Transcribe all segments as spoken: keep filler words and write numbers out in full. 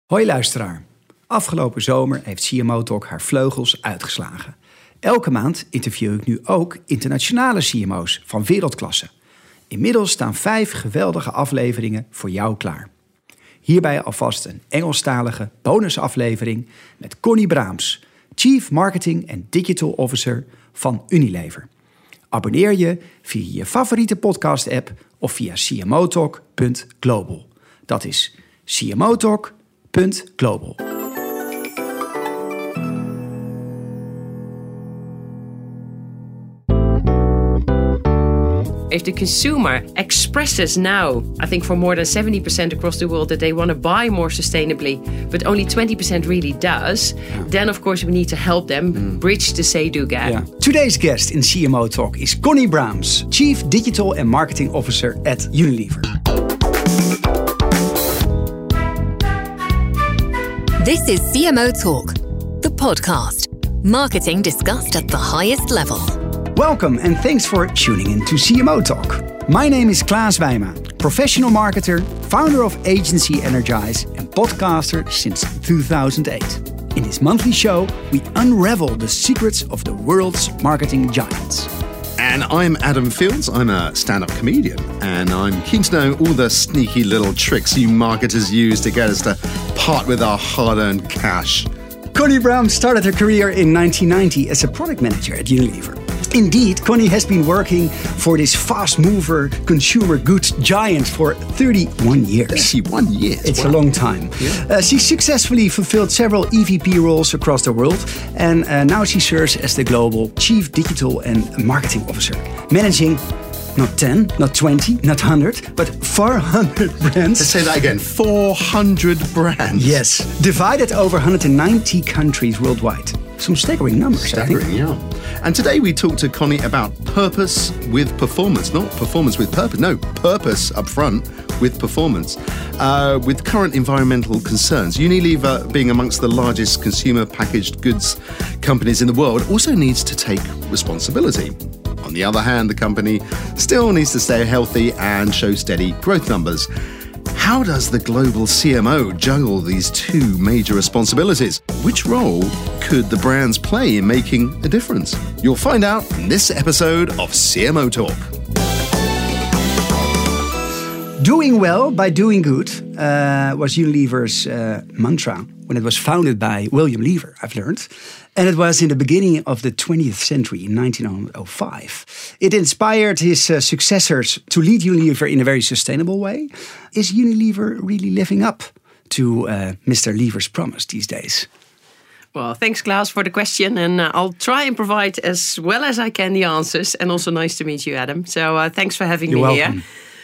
Hoi luisteraar. Afgelopen zomer heeft C M O Talk haar vleugels uitgeslagen. Elke maand interview ik nu ook internationale C M O's van wereldklasse. Inmiddels staan vijf geweldige afleveringen voor jou klaar. Hierbij alvast een Engelstalige bonusaflevering met Connie Braams, Chief Marketing and Digital Officer van Unilever. Abonneer je via je favoriete podcast-app of via c m o talk punt global. Dat is c m o talk punt global. If the consumer expresses now, I think for more than seventy percent across the world, that they want to buy more sustainably, but only twenty percent really does, yeah. then of course we need to help them mm. bridge the say-do gap. Yeah. Today's guest in C M O Talk is Connie Braams, Chief Digital and Marketing Officer at Unilever. This is C M O Talk, the podcast. Marketing discussed at the highest level. Welcome and thanks for tuning in to C M O Talk. My name is Klaas Wijma, professional marketer, founder of Agency Energize and podcaster since two thousand eight. In this monthly show, we unravel the secrets of the world's marketing giants. And I'm Adam Fields, I'm a stand-up comedian, and I'm keen to know all the sneaky little tricks you marketers use to get us to part with our hard-earned cash. Connie Braams started her career in nineteen ninety as a product manager at Unilever. Indeed, Connie has been working for this fast-mover consumer goods giant for thirty-one years. thirty-one years? It's wow. a long time. Yeah. Uh, she successfully fulfilled several E V P roles across the world, and uh, now she serves as the global Chief Digital and Marketing Officer, managing not ten, not twenty, not one hundred, but four hundred brands. Let's say that again, four hundred brands. Yes, divided over one hundred ninety countries worldwide. Some staggering numbers, staggering, I think. Yeah. And today we talk to Connie about purpose with performance. Not performance with purpose. No, purpose up front with performance. Uh, with current environmental concerns, Unilever, being amongst the largest consumer packaged goods companies in the world, also needs to take responsibility. On the other hand, the company still needs to stay healthy and show steady growth numbers. How does the global C M O juggle these two major responsibilities? Which role could the brands play in making a difference? You'll find out in this episode of C M O Talk. Doing well by doing good uh, was Unilever's uh, mantra when it was founded by William Lever, I've learned. And it was in the beginning of the twentieth century, in nineteen oh five. It inspired his uh, successors to lead Unilever in a very sustainable way. Is Unilever really living up to uh, Mister Lever's promise these days? Well, thanks, Klaas, for the question. And uh, I'll try and provide as well as I can the answers. And also nice to meet you, Adam. So uh, thanks for having You're me welcome. here.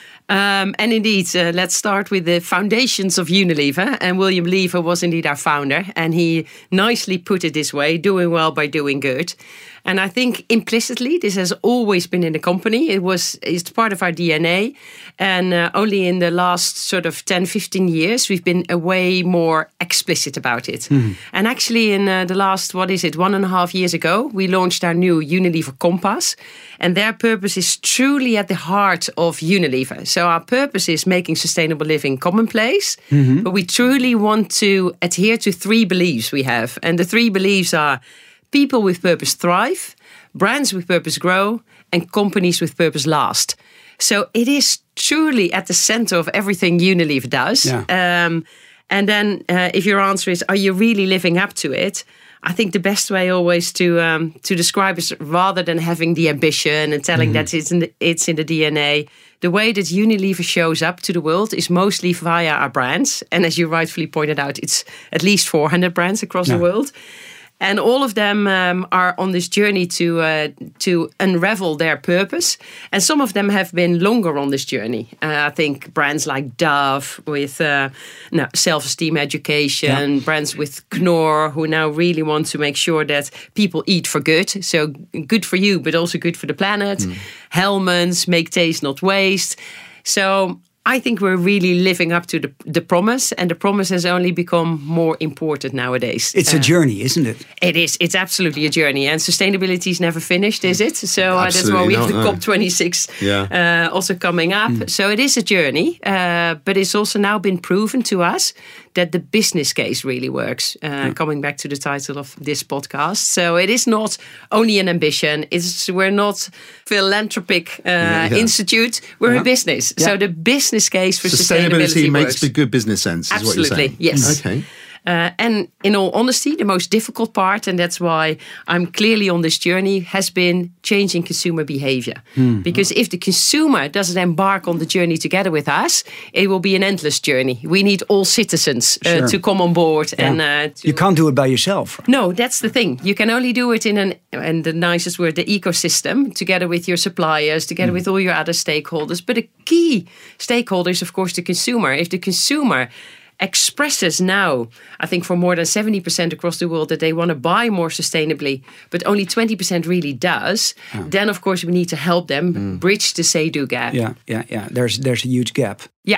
Um, and indeed, uh, let's start with the foundations of Unilever. And William Lever was indeed our founder. And he nicely put it this way, doing well by doing good. And I think implicitly, this has always been in the company. It was, it's part of our D N A. And uh, only in the last sort of ten, fifteen years, we've been a way more explicit about it. Mm. And actually in uh, the last, what is it, one and a half years ago, we launched our new Unilever Compass. And their purpose is truly at the heart of Unilever. So our purpose is making sustainable living commonplace. Mm-hmm. But we truly want to adhere to three beliefs we have. And the three beliefs are: people with purpose thrive, brands with purpose grow, and companies with purpose last. So it is truly at the center of everything Unilever does. Yeah. Um, and then uh, if your answer is, are you really living up to it? I think the best way always to um, to describe is, rather than having the ambition and telling mm-hmm. that it's in, the, it's in the D N A, the way that Unilever shows up to the world is mostly via our brands. And as you rightfully pointed out, it's at least four hundred brands across yeah. the world. And all of them um, are on this journey to uh, to unravel their purpose. And some of them have been longer on this journey. Uh, I think brands like Dove with uh, no, self-esteem education, yeah. brands with Knorr who now really want to make sure that people eat for good. So good for you, but also good for the planet. Mm. Hellmann's, make taste, not waste. So I think we're really living up to the, the promise, and the promise has only become more important nowadays. It's uh, a journey, isn't it? It is. It's absolutely a journey, and sustainability is never finished, is it? So uh, that's why we have the no. COP twenty-six yeah. uh, also coming up. Mm. So it is a journey, uh, but it's also now been proven to us that the business case really works. Uh, yeah. Coming back to the title of this podcast. So it is not only an ambition. It's We're not philanthropic uh, yeah, yeah. institute. We're yeah. a business. Yeah. So the business case for sustainability, sustainability makes works. the good business sense, is Absolutely, what you're saying. Yes. Okay. Uh, and in all honesty, the most difficult part, and that's why I'm clearly on this journey, has been changing consumer behavior. Mm. Because if the consumer doesn't embark on the journey together with us, it will be an endless journey. We need all citizens uh, sure. to come on board. Yeah. And uh, to you can't do it by yourself. No, that's the thing. You can only do it in an, and the nicest word, the ecosystem, together with your suppliers, together mm. with all your other stakeholders. But a key stakeholder is, of course, the consumer. If the consumer expresses now, I think for more than seventy percent across the world, that they want to buy more sustainably, but only twenty percent really does, oh. then of course we need to help them mm. bridge the say-do gap. Yeah, yeah, yeah. There's there's a huge gap. Yeah.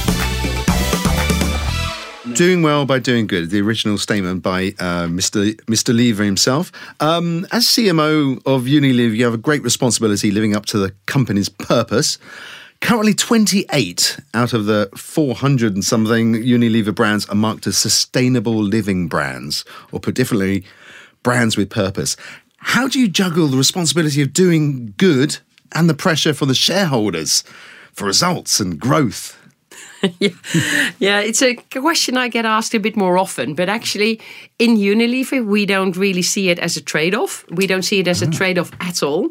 Doing well by doing good, the original statement by uh, Mister Mister Lever himself. Um, as C M O of Unilever, you have a great responsibility living up to the company's purpose. Currently, twenty-eight out of the four hundred and something Unilever brands are marked as sustainable living brands, or put differently, brands with purpose. How do you juggle the responsibility of doing good and the pressure for the shareholders for results and growth? yeah. yeah, it's a question I get asked a bit more often. But actually, in Unilever, we don't really see it as a trade-off. We don't see it as a trade-off at all.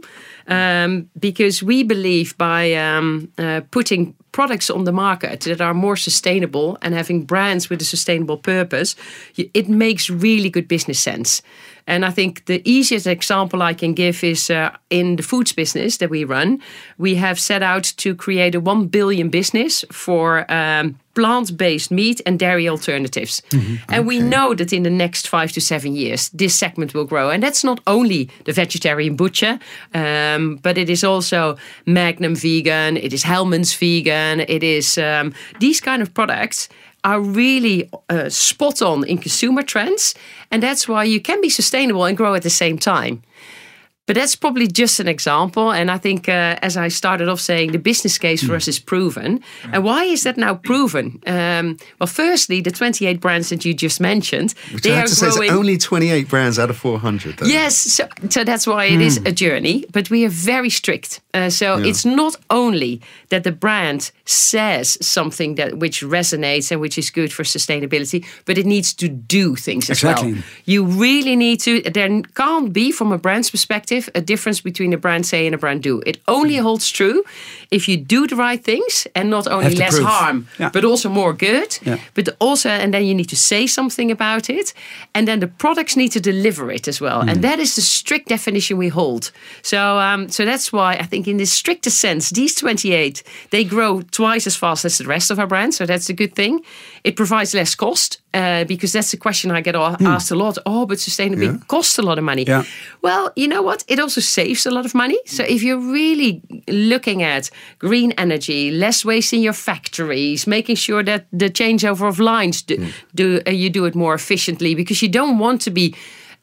Um, because we believe by um, uh, putting products on the market that are more sustainable and having brands with a sustainable purpose, it makes really good business sense. And I think the easiest example I can give is uh, in the foods business that we run, we have set out to create a one billion business for um, plant-based meat and dairy alternatives. Mm-hmm. And okay. we know that in the next five to seven years, this segment will grow. And that's not only the vegetarian butcher, um, but it is also Magnum vegan, it is Hellmann's vegan, it is um, these kind of products are really uh, spot on in consumer trends. And that's why you can be sustainable and grow at the same time. But that's probably just an example. And I think, uh, as I started off saying, the business case for mm. us is proven. Yeah. And why is that now proven? Um, well, firstly, the twenty-eight brands that you just mentioned, Which they I have are to say growing. It's only twenty-eight brands out of four hundred. Though. Yes, so, so that's why it mm. is a journey. But we are very strict. Uh, so yeah. it's not only that the brand says something that which resonates and which is good for sustainability, but it needs to do things as exactly. well. You really need to. There can't be, from a brand's perspective, a difference between a brand say and a brand do. It only holds true if you do the right things and not only less prove. harm, yeah. but also more good. Yeah. But also, and then you need to say something about it. And then the products need to deliver it as well. Mm. And that is the strict definition we hold. So, um, so that's why I think in the strictest sense, these twenty-eight, they grow twice as fast as the rest of our brands. So that's a good thing. It provides less cost. Uh, because that's the question I get asked mm. a lot. Oh, but sustainability yeah. costs a lot of money. Yeah. Well, you know what? It also saves a lot of money. So if you're really looking at green energy, less waste in your factories, making sure that the changeover of lines do, mm. do uh, you do it more efficiently, because you don't want to be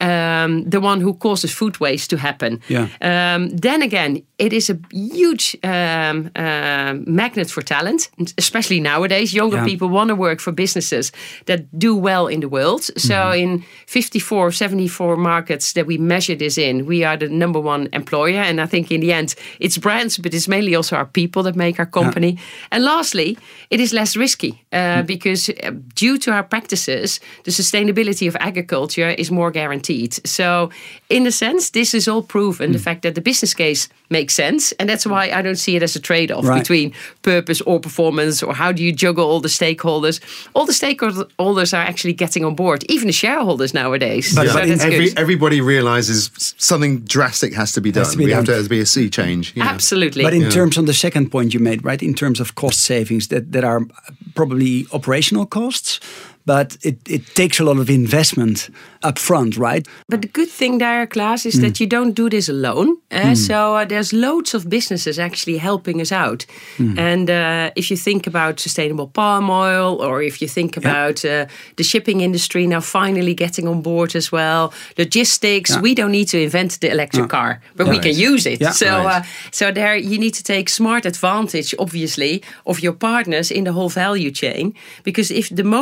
Um, the one who causes food waste to happen. Yeah. Um, then again, it is a huge um, uh, magnet for talent, especially nowadays. Younger yeah. people want to work for businesses that do well in the world. So mm-hmm. in fifty-four, seventy-four markets that we measure this in, we are the number one employer. And I think in the end, it's brands, but it's mainly also our people that make our company. Yeah. And lastly, it is less risky uh, mm. because uh, due to our practices, the sustainability of agriculture is more guaranteed. So in a sense, this is all proven, mm. the fact that the business case makes sense. And that's why I don't see it as a trade-off right. between purpose or performance, or how do you juggle all the stakeholders. All the stakeholders are actually getting on board, even the shareholders nowadays. But, so but that's every, good. everybody realises something drastic has to be done. To be we done. have to, there has to be a sea change. Yeah. Absolutely. But in yeah. terms of the second point you made, right, in terms of cost savings that, that are probably operational costs, but it, it takes a lot of investment up front, right? But the good thing there, Klaas, is mm. that you don't do this alone. Uh, mm. So uh, there's loads of businesses actually helping us out. Mm. And uh, if you think about sustainable palm oil, or if you think about yeah. uh, the shipping industry now finally getting on board as well, logistics, yeah. we don't need to invent the electric yeah. car, but yeah. we can use it. Yeah. So, right. uh, so there you need to take smart advantage, obviously, of your partners in the whole value chain. Because if the moment you get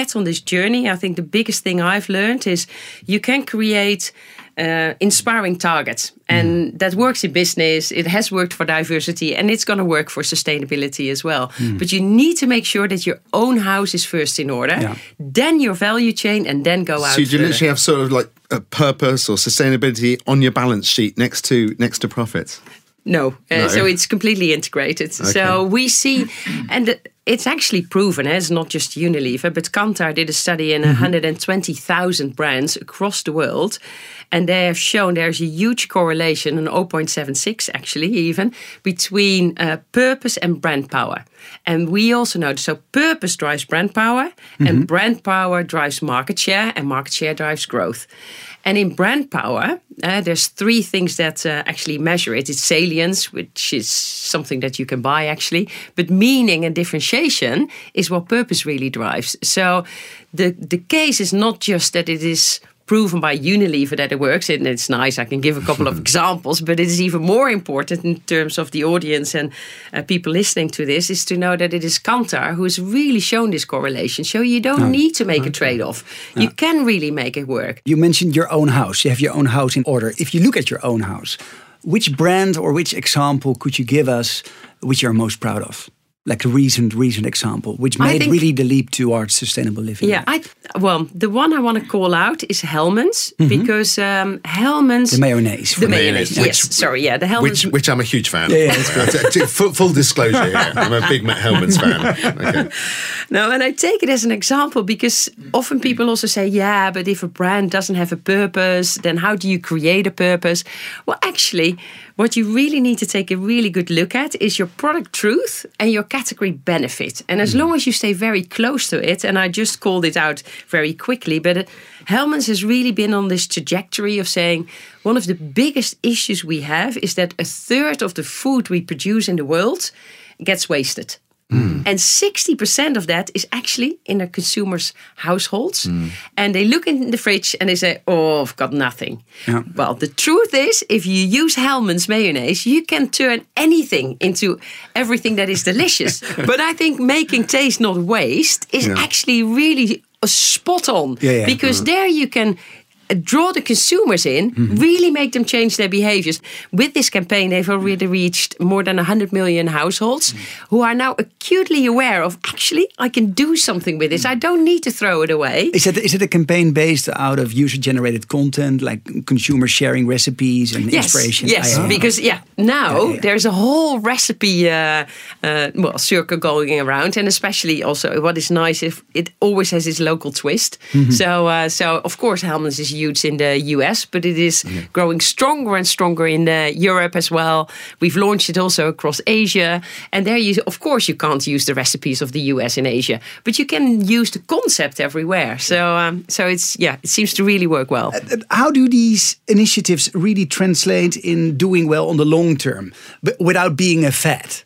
get on this journey, I think the biggest thing I've learned is you can create uh, inspiring targets. And mm. that works in business. It has worked for diversity, and it's going to work for sustainability as well. Mm. But you need to make sure that your own house is first in order, yeah. then your value chain, and then go out. So you further. literally have sort of like a purpose or sustainability on your balance sheet next to next to profits? No, uh, no. So it's completely integrated. Okay. So we see, and it's actually proven, it's not just Unilever, but Kantar did a study in mm-hmm. one hundred twenty thousand brands across the world. And they have shown there's a huge correlation, an zero point seven six actually even, between uh, purpose and brand power. And we also know, so purpose drives brand power, mm-hmm. and brand power drives market share, and market share drives growth. And in brand power, uh, there's three things that uh, actually measure it. It's salience, which is something that you can buy actually. But meaning and differentiation is what purpose really drives. So the, the case is not just that it is proven by Unilever that it works, and it's nice. I can give a couple of examples, but it is even more important in terms of the audience and uh, people listening to this, is to know that it is Kantar who has really shown this correlation. So you don't oh, need to make okay. a trade-off. Yeah. You can really make it work. You mentioned your own house. You have your own house in order. If you look at your own house, which brand or which example could you give us which you're most proud of? Like a recent, recent example, which made think, really the leap towards sustainable living. Yeah, I well, the one I want to call out is Hellmann's, mm-hmm. because um, Hellmann's... The mayonnaise. The mayonnaise, yes. Which, sorry, yeah, the Hellmann's... Which, which I'm a huge fan yeah, of. Yeah, full, full disclosure here, I'm a big Hellmann's fan. Okay. No, and I take it as an example because often people also say, yeah, but if a brand doesn't have a purpose, then how do you create a purpose? Well, actually, what you really need to take a really good look at is your product truth and your category benefit. And as long as you stay very close to it, and I just called it out very quickly, but it, Hellmann's has really been on this trajectory of saying one of the biggest issues we have is that a third of the food we produce in the world gets wasted. Mm. And sixty percent of that is actually in the consumers' households. Mm. And they look in the fridge and they say, oh, I've got nothing. Yeah. Well, the truth is, if you use Hellmann's mayonnaise, you can turn anything into everything that is delicious. But I think making taste, not waste, is yeah. actually really spot on. Yeah, yeah. Because mm. there you can draw the consumers in, mm-hmm. really make them change their behaviors. With this campaign, they've already reached more than one hundred million households mm-hmm. who are now acutely aware of, actually, I can do something with this. I don't need to throw it away. Is it, is it a campaign based out of user-generated content, like consumers sharing recipes and yes, inspiration? Yes, oh. because yeah, now yeah, yeah. there's a whole recipe uh, uh, well, circle going around, and especially also what is nice, if it always has its local twist. Mm-hmm. So, uh, so of course, Hellmann's is huge in the U S, but it is yeah. growing stronger and stronger in uh, Europe as well. We've launched it also across Asia, and there you, of course, you can't use the recipes of the U S in Asia, but you can use the concept everywhere. So, um, so it's yeah, it seems to really work well. How do these initiatives really translate in doing well on the long term, but without being a fad?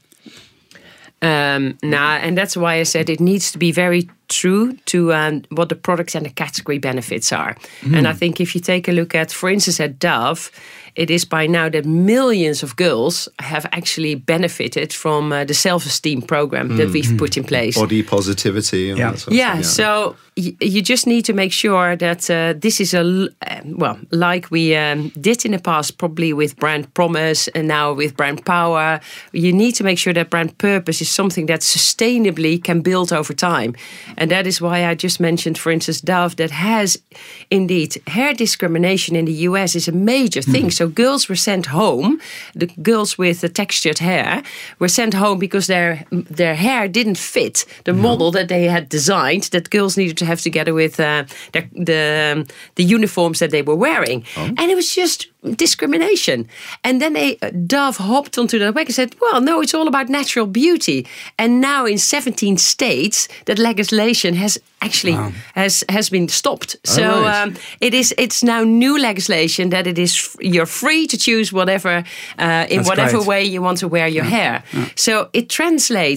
Um, nah, and that's why I said it needs to be very true to um, what the products and the category benefits are. Mm. And I think if you take a look at, for instance, at Dove, it is by now that millions of girls have actually benefited from uh, the self-esteem program mm. that we've put in place. Body positivity. And yeah. That sort of yeah, thing, yeah. So y- you just need to make sure that uh, this is a, uh, well, like we um, did in the past, probably with brand promise and now with brand power, you need to make sure that brand purpose is something that sustainably can build over time. And that is why I just mentioned, for instance, Dove, that has indeed hair discrimination in the U S is a major thing. Mm. So girls were sent home, the girls with the textured hair were sent home because their their hair didn't fit the no. model that they had designed, that girls needed to have together with uh, their, the, um, the uniforms that they were wearing. Oh. And it was just discrimination. And then they, uh, Dove hopped onto the wagon and said, well, no, it's all about natural beauty. And now in seventeen states, that legislation has actually wow. has has been stopped. Oh, so right. um, it is it's now new legislation that it is you're free to choose whatever uh, in That's whatever great. way you want to wear your yeah. hair. Yeah. So it translates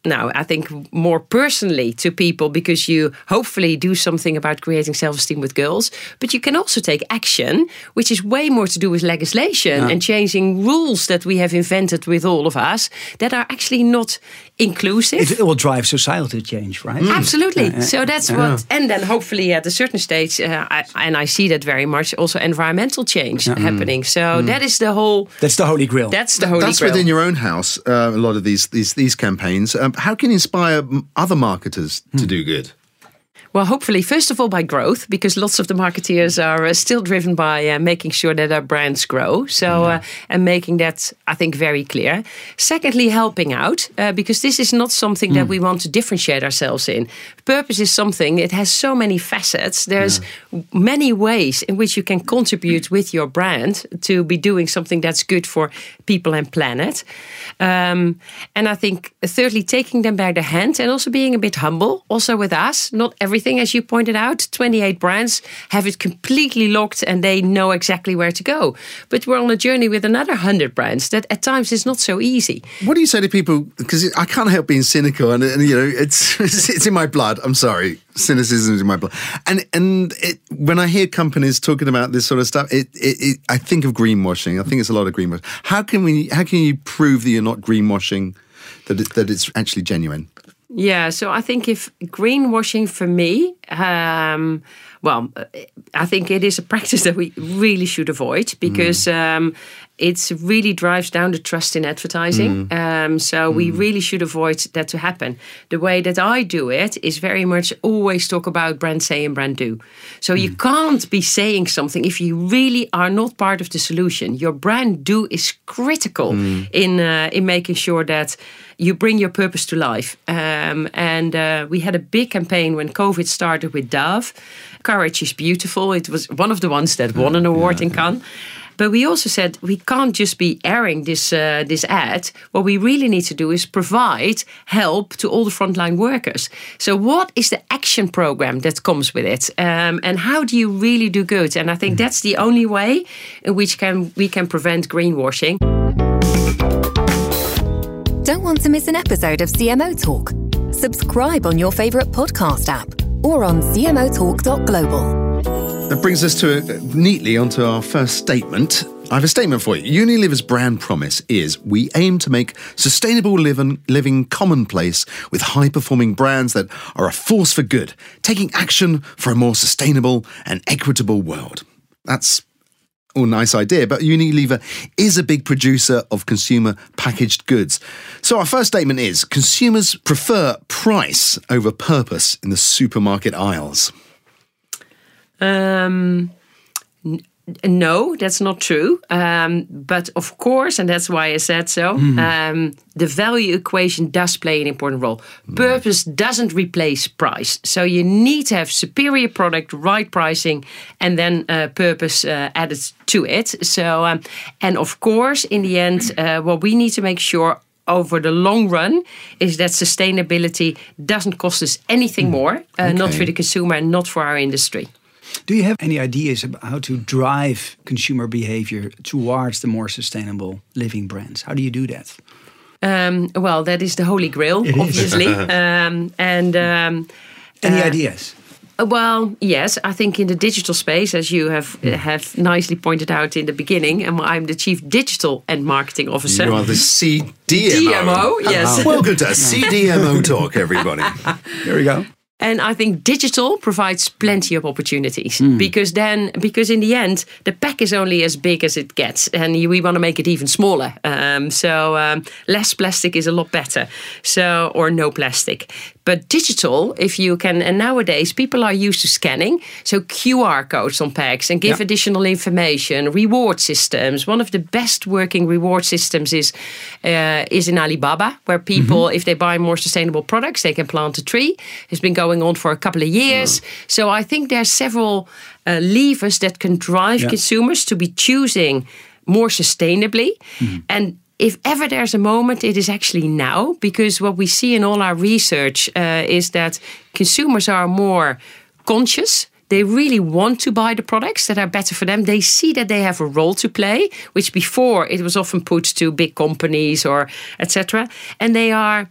now, I think more personally to people, because you hopefully do something about creating self-esteem with girls, but you can also take action, which is way more to do with legislation yeah. and changing rules that we have invented with all of us that are actually not inclusive. It, it will drive societal change, right? Mm. Absolutely. Uh, so that's uh, what, and then hopefully at a certain stage, uh, I, and I see that very much, also environmental change uh, happening. So mm. that is the whole. That's the holy grail. That's the holy that's grail. That's within your own house. Uh, a lot of these these these campaigns. Um, how can you inspire other marketers mm. to do good? Well, hopefully, first of all, by growth, because lots of the marketeers are uh, still driven by uh, making sure that our brands grow. So, mm. uh, and making that, I think, very clear. Secondly, helping out, uh, because this is not something mm. that we want to differentiate ourselves in. Purpose is something, it has so many facets. There's yeah. many ways in which you can contribute with your brand to be doing something that's good for people and planet. Um, and I think, thirdly, taking them by the hand and also being a bit humble, also with us, not everything. As you pointed out, twenty-eight brands have it completely locked and they know exactly where to go. But we're on a journey with another one hundred brands that at times is not so easy. What do you say to people? Because I can't help being cynical, and, and you know, it's it's in my blood. I'm sorry, cynicism is in my blood. And and it, when I hear companies talking about this sort of stuff, it, it, it I think of greenwashing. I think it's a lot of greenwashing. How can we? How can you prove that you're not greenwashing? That it, that it's actually genuine? Yeah, so I think if greenwashing for me, um, well, I think it is a practice that we really should avoid because mm. um, it really drives down the trust in advertising. Mm. Um, so mm. we really should avoid that to happen. The way that I do it is very much always talk about brand say and brand do. So mm. you can't be saying something if you really are not part of the solution. Your brand do is critical mm. in uh, in making sure that you bring your purpose to life. Um, and uh, we had a big campaign when COVID started with Dove. Courage is beautiful. It was one of the ones that won an award yeah, in Cannes. But we also said we can't just be airing this uh, this ad. What we really need to do is provide help to all the frontline workers. So what is the action program that comes with it? Um, and how do you really do good? And I think that's the only way in which can we can prevent greenwashing. Don't want to miss an episode of C M O Talk? Subscribe on your favourite podcast app or on c m o talk dot global. That brings us to uh, neatly onto our first statement. I have a statement for you. Unilever's brand promise is we aim to make sustainable living, living commonplace with high-performing brands that are a force for good, taking action for a more sustainable and equitable world. That's a nice idea, but Unilever is a big producer of consumer packaged goods. So our first statement is consumers prefer price over purpose in the supermarket aisles. Um, n- no, that's not true. Um, but of course, and that's why I said so, mm. um, the value equation does play an important role. Mm. Purpose doesn't replace price. So you need to have superior product, right pricing, and then uh, purpose uh, added to it. So, um, and of course, in the end, uh, what we need to make sure over the long run is that sustainability doesn't cost us anything more, uh, okay. not for the consumer and not for our industry. Do you have any ideas about how to drive consumer behavior towards the more sustainable living brands? How do you do that? Um, well, that is the holy grail, it obviously. um, and um, any uh, ideas? Well, yes, I think in the digital space, as you have uh, have nicely pointed out in the beginning, and I'm the Chief Digital and Marketing Officer. You are the C D M O. D M O, yes. Welcome to C D M O Talk, everybody. There we go. And I think digital provides plenty of opportunities mm. because then, because in the end, the pack is only as big as it gets, and we want to make it even smaller. Um, so um, less plastic is a lot better. So or no plastic. But digital, if you can, and nowadays people are used to scanning, so Q R codes on packs and give yep. additional information, reward systems. One of the best working reward systems is uh, is in Alibaba, where people, mm-hmm. if they buy more sustainable products, they can plant a tree. It's been going on for a couple of years. Oh. So I think there are several uh, levers that can drive yep. consumers to be choosing more sustainably. Mm-hmm. And if ever there's a moment, it is actually now, because what we see in all our research uh, is that consumers are more conscious. They really want to buy the products that are better for them. They see that they have a role to play, which before it was often put to big companies or et cetera. And they are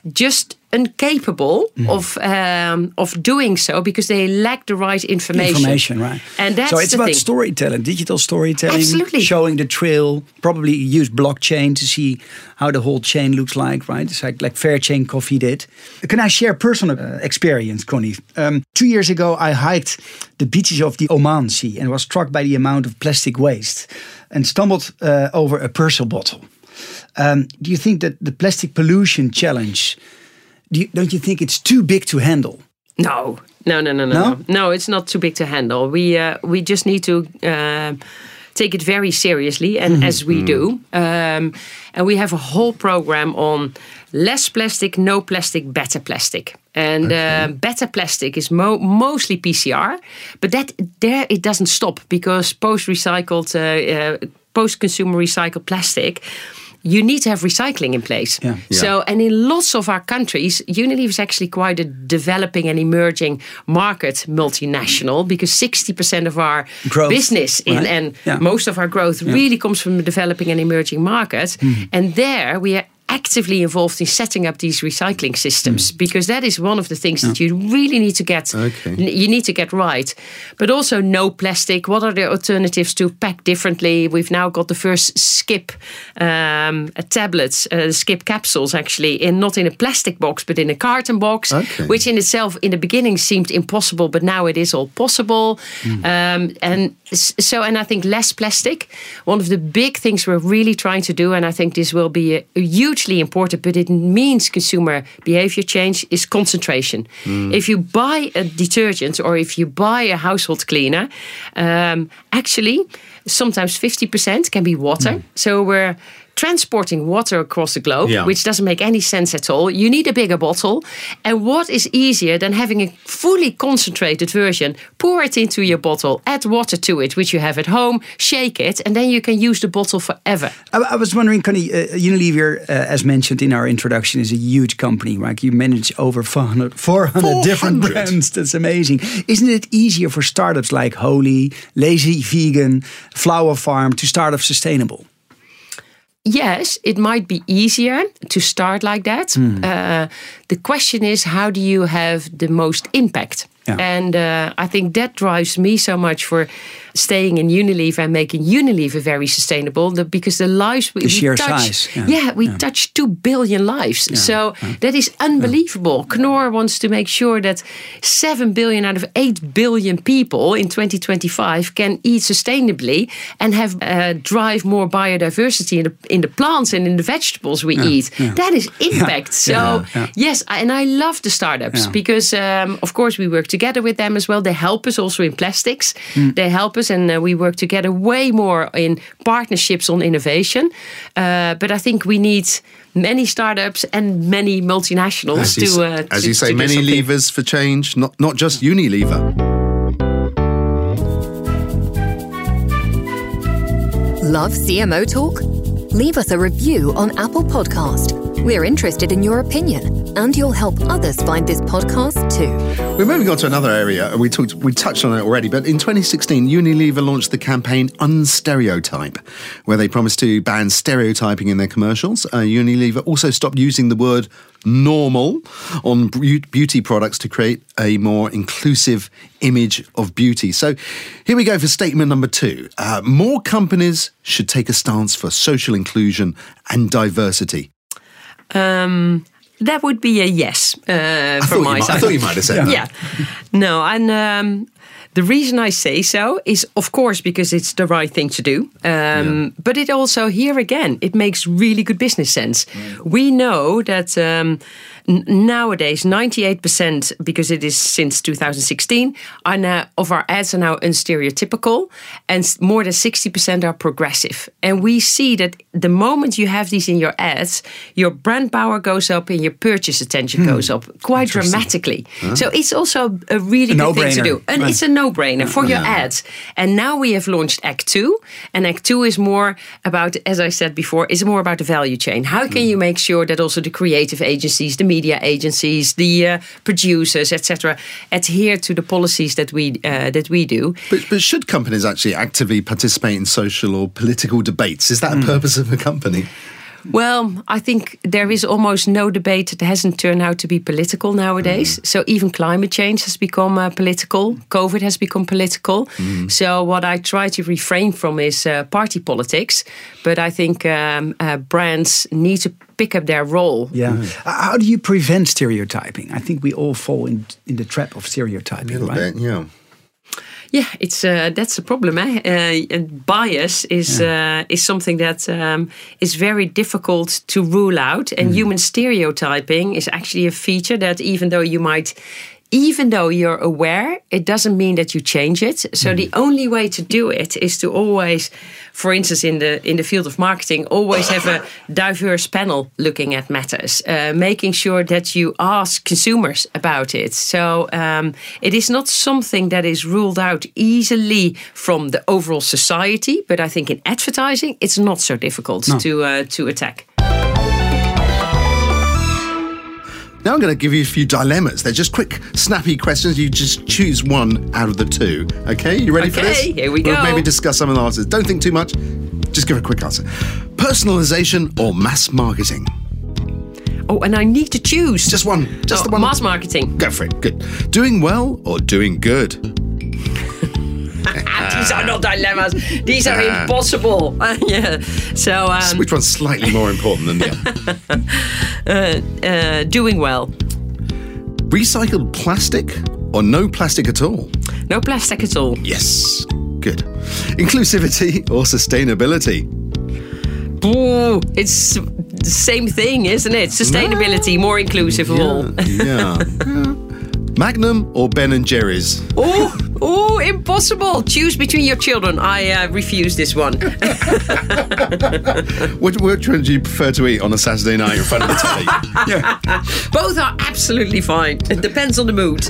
just incapable mm. of um, of doing so because they lack the right information. Information, right? And that's so it's the about thing. storytelling, digital storytelling, Absolutely. showing the trail. Probably use blockchain to see how the whole chain looks like, right? It's like like Fairchain Coffee did. Can I share personal uh, experience, Connie? Um, two years ago, I hiked the beaches of the Oman Sea and was struck by the amount of plastic waste and stumbled uh, over a Persil bottle. Um, do you think that the plastic pollution challenge? Do you, don't you think it's too big to handle? No, no, no, no, no, No? no. No, it's not too big to handle. We uh, we just need to uh, take it very seriously, and mm-hmm. as we do, um, and we have a whole program on less plastic, no plastic, better plastic. And okay. uh, better plastic is mo- mostly P C R, but that there it doesn't stop because post-recycled, uh, uh, post-consumer recycled plastic. You need to have recycling in place. Yeah. So, Yeah. and in lots of our countries, Unilever is actually quite a developing and emerging market multinational because sixty percent of our Growth, business in, right? and Yeah. most of our growth Yeah. really comes from the developing and emerging market. Mm. And there we are actively involved in setting up these recycling systems mm. because that is one of the things yeah. that you really need to get okay. you need to get right. But also no plastic. What are the alternatives to pack differently? We've now got the first Skip um, tablets, uh, Skip capsules actually, in not in a plastic box but in a carton box, okay. which in itself in the beginning seemed impossible, but now it is all possible. Mm. Um, and so, and I think less plastic. One of the big things we're really trying to do, and I think this will be a, a huge important, but it means consumer behavior change, is concentration. Mm. If you buy a detergent or if you buy a household cleaner, um, actually, sometimes fifty percent can be water. Mm. So we're transporting water across the globe, yeah. which doesn't make any sense at all. You need a bigger bottle. And what is easier than having a fully concentrated version? Pour it into your bottle, add water to it, which you have at home, shake it, and then you can use the bottle forever. I, I was wondering, Connie, uh, Unilever, uh, as mentioned in our introduction, is a huge company, right? You manage over four hundred, four hundred different brands. That's amazing. Isn't it easier for startups like Holy, Lazy Vegan, Flower Farm to start off sustainable? Yes, it might be easier to start like that. Mm. Uh, the question is, how do you have the most impact? Yeah. And uh, I think that drives me so much for staying in Unilever and making Unilever very sustainable, the, because the lives we, the sheer we touch, size, yeah, yeah we yeah. touch two billion lives. Yeah. So yeah. that is unbelievable. Yeah. Knorr wants to make sure that seven billion out of eight billion people in twenty twenty-five can eat sustainably and have uh, drive more biodiversity in the in the plants and in the vegetables we yeah. eat. Yeah. That is impact. Yeah. So Yeah. Yeah. yes, and I love the startups yeah. because um, of course we work together with them as well. They help us also in plastics. Mm. They help us, and uh, we work together way more in partnerships on innovation. Uh, but I think we need many startups and many multinationals as to, you, uh, as to, you say, to do many something. levers for change, not not just Unilever. Love C M O Talk? Leave us a review on Apple Podcast. We're interested in your opinion, and you'll help others find this podcast too. We're moving on to another area. We talked, we touched on it already, but in twenty sixteen, Unilever launched the campaign Unstereotype, where they promised to ban stereotyping in their commercials. Uh, Unilever also stopped using the word normal on beauty products to create a more inclusive image of beauty. So here we go for statement number two. Uh, more companies should take a stance for social inclusion and diversity. Um, that would be a yes uh, from my might, side. I thought you might have said yeah. that. Yeah. No, and um, the reason I say so is, of course, because it's the right thing to do. Um, yeah. But it also, here again, it makes really good business sense. Mm. We know that um, n- nowadays, ninety-eight percent, because it is since two thousand sixteen, are now, of our ads are now unstereotypical, and more than sixty percent are progressive. And we see that the moment you have these in your ads, your brand power goes up and your purchase attention hmm. goes up quite dramatically. Huh? So it's also a really a good thing to do. And right. it's a no-brainer for your yeah. ads. And now we have launched Act Two, and Act Two is more about, as I said before, is more about the value chain. How can mm. you make sure that also the creative agencies, the media agencies, the uh, producers, et cetera, adhere to the policies that we uh, that we do? But, but should companies actually actively participate in social or political debates? Is that mm. a purpose of a company? Well, I think there is almost no debate that hasn't turned out to be political nowadays. Mm. So even climate change has become uh, political. COVID has become political. Mm. So what I try to refrain from is uh, party politics. But I think um, uh, brands need to pick up their role. Yeah. Mm. How do you prevent stereotyping? I think we all fall in, in the trap of stereotyping, a little right? bit, yeah. Yeah, it's uh, that's a problem. Eh? Uh, and bias is yeah. uh, is something that um, is very difficult to rule out. And mm. human stereotyping is actually a feature that, even though you might, even though you're aware, it doesn't mean that you change it. So mm. the only way to do it is to always, for instance, in the in the field of marketing, always have a diverse panel looking at matters, uh, making sure that you ask consumers about it. So um, it is not something that is ruled out easily from the overall society, but I think in advertising, it's not so difficult no. to uh, to attack. Now I'm going to give you a few dilemmas. They're just quick, snappy questions. You just choose one out of the two. Okay, you ready okay, for this? Here we go. We'll maybe discuss some of the answers. Don't think too much. Just give a quick answer. Personalization or mass marketing? Oh, and I need to choose. Just one. Just oh, the one. Mass marketing. Go for it. Good. Doing well or doing good? These are not dilemmas. These are impossible. yeah. So um, which one's slightly more important than the other? uh, uh, doing well. Recycled plastic or no plastic at all? No plastic at all. Yes. Good. Inclusivity or sustainability? Ooh, it's the same thing, isn't it? Sustainability, no. More inclusive yeah, of all. yeah. yeah. Magnum or Ben and Jerry's? Oh, oh, impossible. Choose between your children. I uh, refuse this one. which, which one do you prefer to eat on a Saturday night in front of the telly? yeah. Both are absolutely fine. It depends on the mood.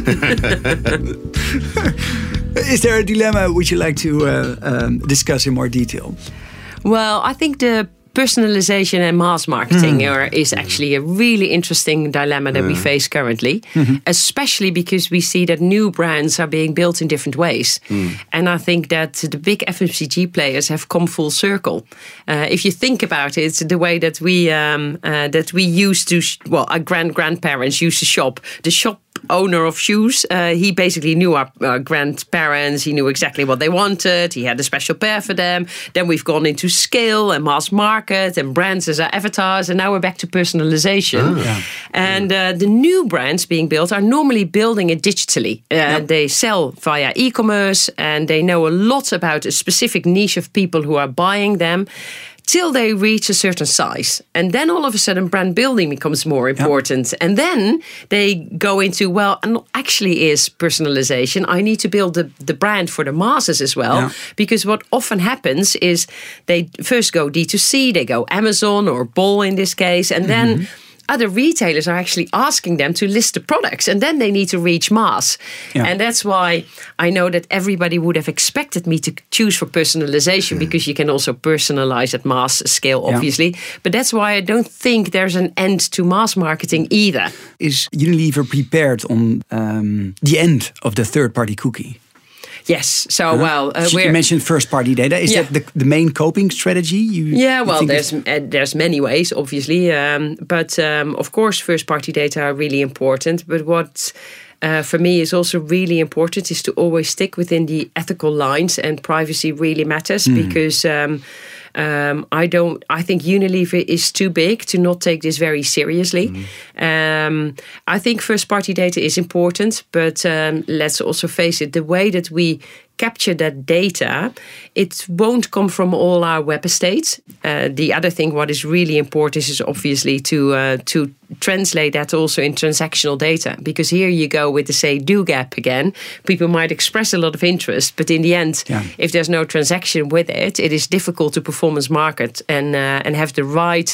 Is there a dilemma which you like to uh, um, discuss in more detail? Well, I think the personalization and mass marketing mm. are, is actually a really interesting dilemma that mm. we face currently, mm-hmm. especially because we see that new brands are being built in different ways. Mm. And I think that the big F M C G players have come full circle. Uh, if you think about it, the way that we um, uh, that we used to, sh- well, our grand grandparents used to shop, the shop owner of shoes, uh, he basically knew our, our grandparents. He knew exactly what they wanted. He had a special pair for them. Then we've gone into scale and mass market and brands as our avatars, and now we're back to personalization. Oh. Yeah. And uh, the new brands being built are normally building it digitally. Uh, yep. They sell via e-commerce, and they know a lot about a specific niche of people who are buying them, till they reach a certain size. And then all of a sudden brand building becomes more important. Yep. And then they go into, well, and actually is personalization. I need to build the, the brand for the masses as well. Yep. Because what often happens is they first go D two C, they go Amazon or Bol in this case, and then mm-hmm. other retailers are actually asking them to list the products, and then they need to reach mass. Yeah. And that's why I know that everybody would have expected me to choose for personalization, mm. because you can also personalize at mass scale, obviously. Yeah. But that's why I don't think there's an end to mass marketing either. Is Unilever prepared on um, the end of the third-party cookie? Yes. So, uh-huh. well, uh, you mentioned first-party data. Is yeah. that the, the main coping strategy? You, yeah. Well, you there's uh, there's many ways, obviously, um, but um, of course, first-party data are really important. But what uh, for me is also really important is to always stick within the ethical lines, and privacy really matters mm. because. Um, Um, I don't. I think Unilever is too big to not take this very seriously. Mm-hmm. Um, I think first-party data is important, but um, let's also face it: the way that we capture that data, it won't come from all our web estates. Uh, the other thing, what is really important, is obviously to uh, to translate that also in transactional data. Because here you go with the say-do gap again. People might express a lot of interest, but in the end, yeah. if there's no transaction with it, it is difficult to performance market and uh, and have the right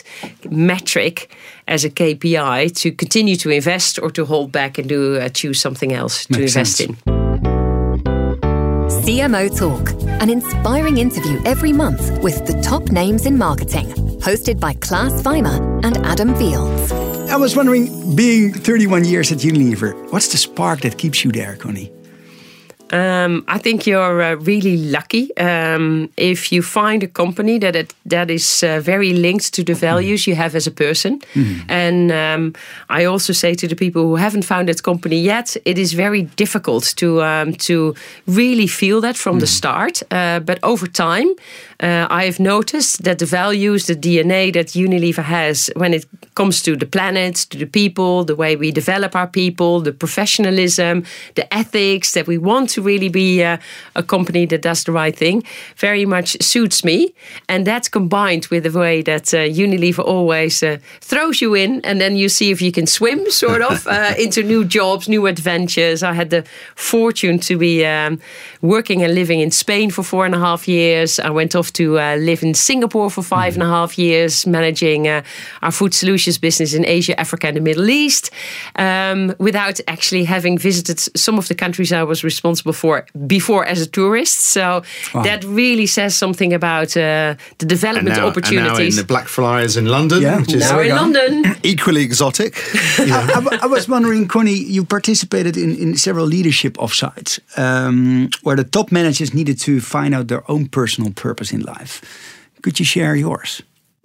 metric as a K P I to continue to invest or to hold back and do uh, choose something else to Makes invest sense. in. C M O Talk, an inspiring interview every month with the top names in marketing. Hosted by Klaas Weimer and Adam Fields. I was wondering, being thirty-one years at Unilever, what's the spark that keeps you there, Connie? Um, I think you're uh, really lucky um, if you find a company that it, that is uh, very linked to the values mm. you have as a person. Mm. And um, I also say to the people who haven't found that company yet, it is very difficult to um, to really feel that from mm. the start. Uh, but over time, uh, I have noticed that the values, the D N A that Unilever has when it comes to the planet, to the people, the way we develop our people, the professionalism, the ethics, that we want to really be uh, a company that does the right thing, very much suits me. And that's combined with the way that uh, Unilever always uh, throws you in, and then you see if you can swim, sort of, uh, into new jobs, new adventures. I had the fortune to be um, working and living in Spain for four and a half years. I went off to uh, live in Singapore for five mm-hmm. and a half years, managing uh, our food solutions business in Asia, Africa, and the Middle East, um, without actually having visited some of the countries I was responsible for before as a tourist. So wow. that really says something about uh, the development now, opportunities. And now in the Blackfriars in London. Yeah. Which is now in London. Equally exotic. Yeah. I, I, I was wondering, Connie, you participated in, in several leadership offsites um, where the top managers needed to find out their own personal purpose in life. Could you share yours?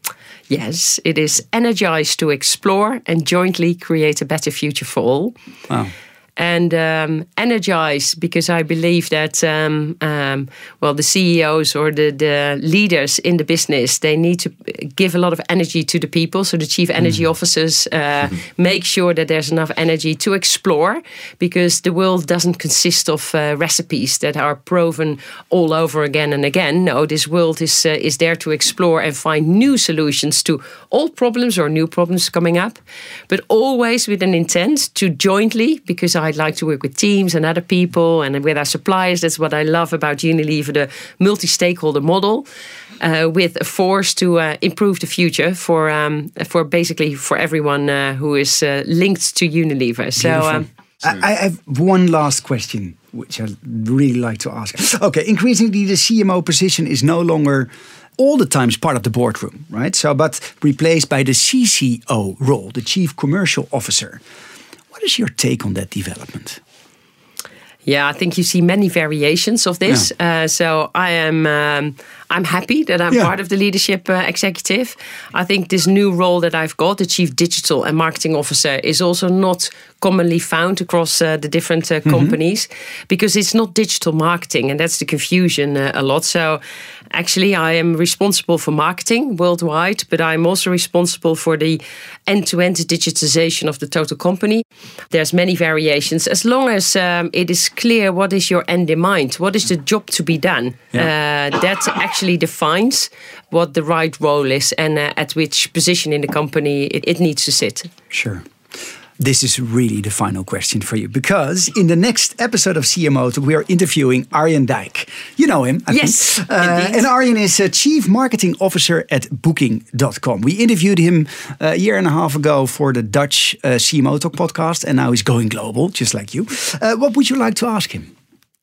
Yes, it is energized to explore and jointly create a better future for all. Wow. And um, energize because I believe that, um, um, well, the C E Os or the, the leaders in the business, they need to give a lot of energy to the people. So the chief energy mm. officers uh, mm-hmm. make sure that there's enough energy to explore, because the world doesn't consist of uh, recipes that are proven all over again and again. No, this world is uh, is there to explore and find new solutions to old problems or new problems coming up, but always with an intent to jointly, because I I'd like to work with teams and other people and with our suppliers. That's what I love about Unilever, the multi-stakeholder model, uh, with a force to uh, improve the future for um, for basically for everyone uh, who is uh, linked to Unilever. So um, I, I have one last question, which I'd really like to ask. Okay, increasingly the C M O position is no longer all the times part of the boardroom, right? So, but replaced by the C C O role, the Chief Commercial Officer. What is your take on that development? Yeah, I think you see many variations of this. Yeah. Uh, so I am um, I'm happy that I'm yeah. part of the leadership uh, executive. I think this new role that I've got, the Chief Digital and Marketing Officer, is also not commonly found across uh, the different uh, mm-hmm. companies, because it's not digital marketing, and that's the confusion uh, a lot. So actually I am responsible for marketing worldwide, but I'm also responsible for the end-to-end digitization of the total company. There's many variations. As long as um, it is clear what is your end in mind, what is the job to be done, yeah. uh, that actually defines what the right role is and uh, at which position in the company it, it needs to sit. Sure. This is really the final question for you, because in the next episode of C M O Talk, we are interviewing Arjen Dijk. You know him, I yes, think. Uh, and Arjen is a Chief Marketing Officer at Booking dot com. We interviewed him a year and a half ago for the Dutch uh, C M O Talk podcast, and now he's going global, just like you. Uh, what would you like to ask him?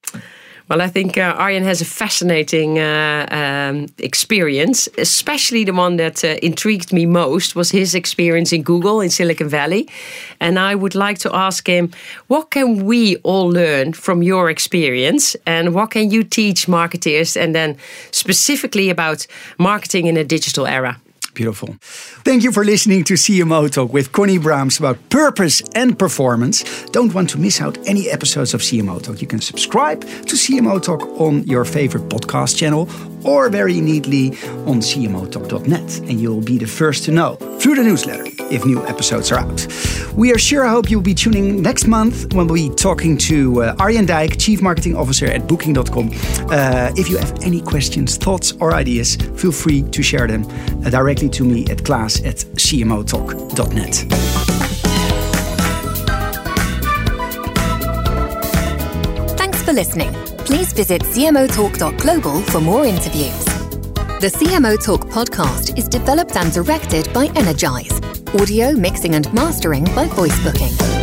Well, I think uh, Arjen has a fascinating uh, um, experience, especially the one that uh, intrigued me most was his experience in Google in Silicon Valley. And I would like to ask him, what can we all learn from your experience, and what can you teach marketers, and then specifically about marketing in a digital era? Beautiful. Thank you for listening to C M O Talk with Connie Braams about purpose and performance. Don't want to miss out any episodes of C M O Talk. You can subscribe to C M O Talk on your favorite podcast channel, or very neatly on C M O talk dot net, and you'll be the first to know through the newsletter if new episodes are out. We are sure I hope you'll be tuning next month when we'll be talking to uh, Arjen Dijk, Chief Marketing Officer at Booking dot com. Uh, if you have any questions, thoughts or ideas, feel free to share them uh, directly to me at Klaas at C M O talk dot net. Thanks for listening. Please visit C M O talk dot global for more interviews. The C M O Talk podcast is developed and directed by Energize. Audio mixing and mastering by Voice Booking.